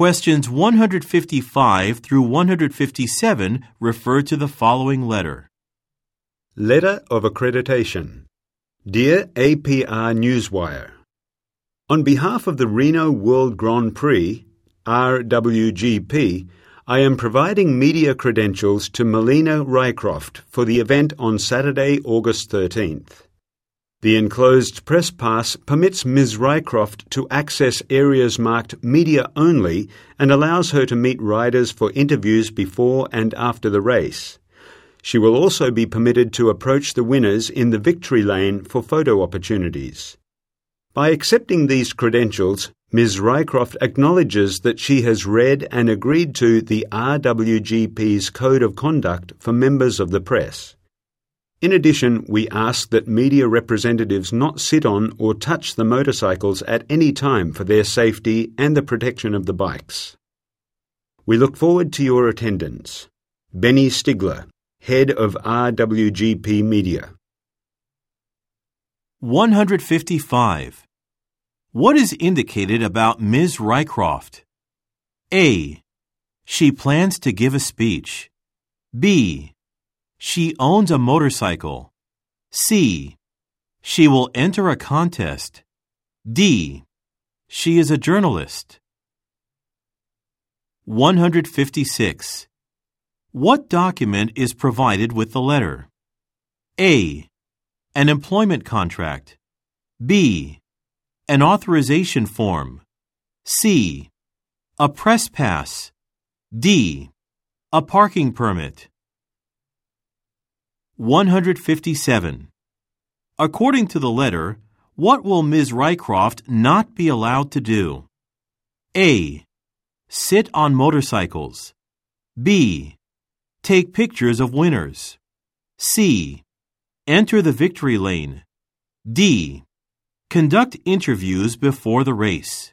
Questions 155 through 157 refer to the following letter. Letter of Accreditation. Dear APR Newswire, on behalf of the Reno World Grand Prix, RWGP, I am providing media credentials to Melina Rycroft for the event on Saturday, August 13th. The enclosed press pass permits Ms. Rycroft to access areas marked Media Only and allows her to meet riders for interviews before and after the race. She will also be permitted to approach the winners in the victory lane for photo opportunities. By accepting these credentials, Ms. Rycroft acknowledges that she has read and agreed to the RWGP's Code of Conduct for members of the press. In addition, we ask that media representatives not sit on or touch the motorcycles at any time for their safety and the protection of the bikes. We look forward to your attendance. Benny Stigler, Head of RWGP Media. 155. What is indicated about Ms. Rycroft? A. She plans to give a speech. B. She owns a motorcycle. C. She will enter a contest. D. She is a journalist. 156. What document is provided with the letter? A. An employment contract. B. An authorization form. C. A press pass. D. A parking permit. 157. According to the letter, what will Ms. Rycroft not be allowed to do? A. Sit on motorcycles. B. Take pictures of winners. C. Enter the victory lane. D. Conduct interviews before the race.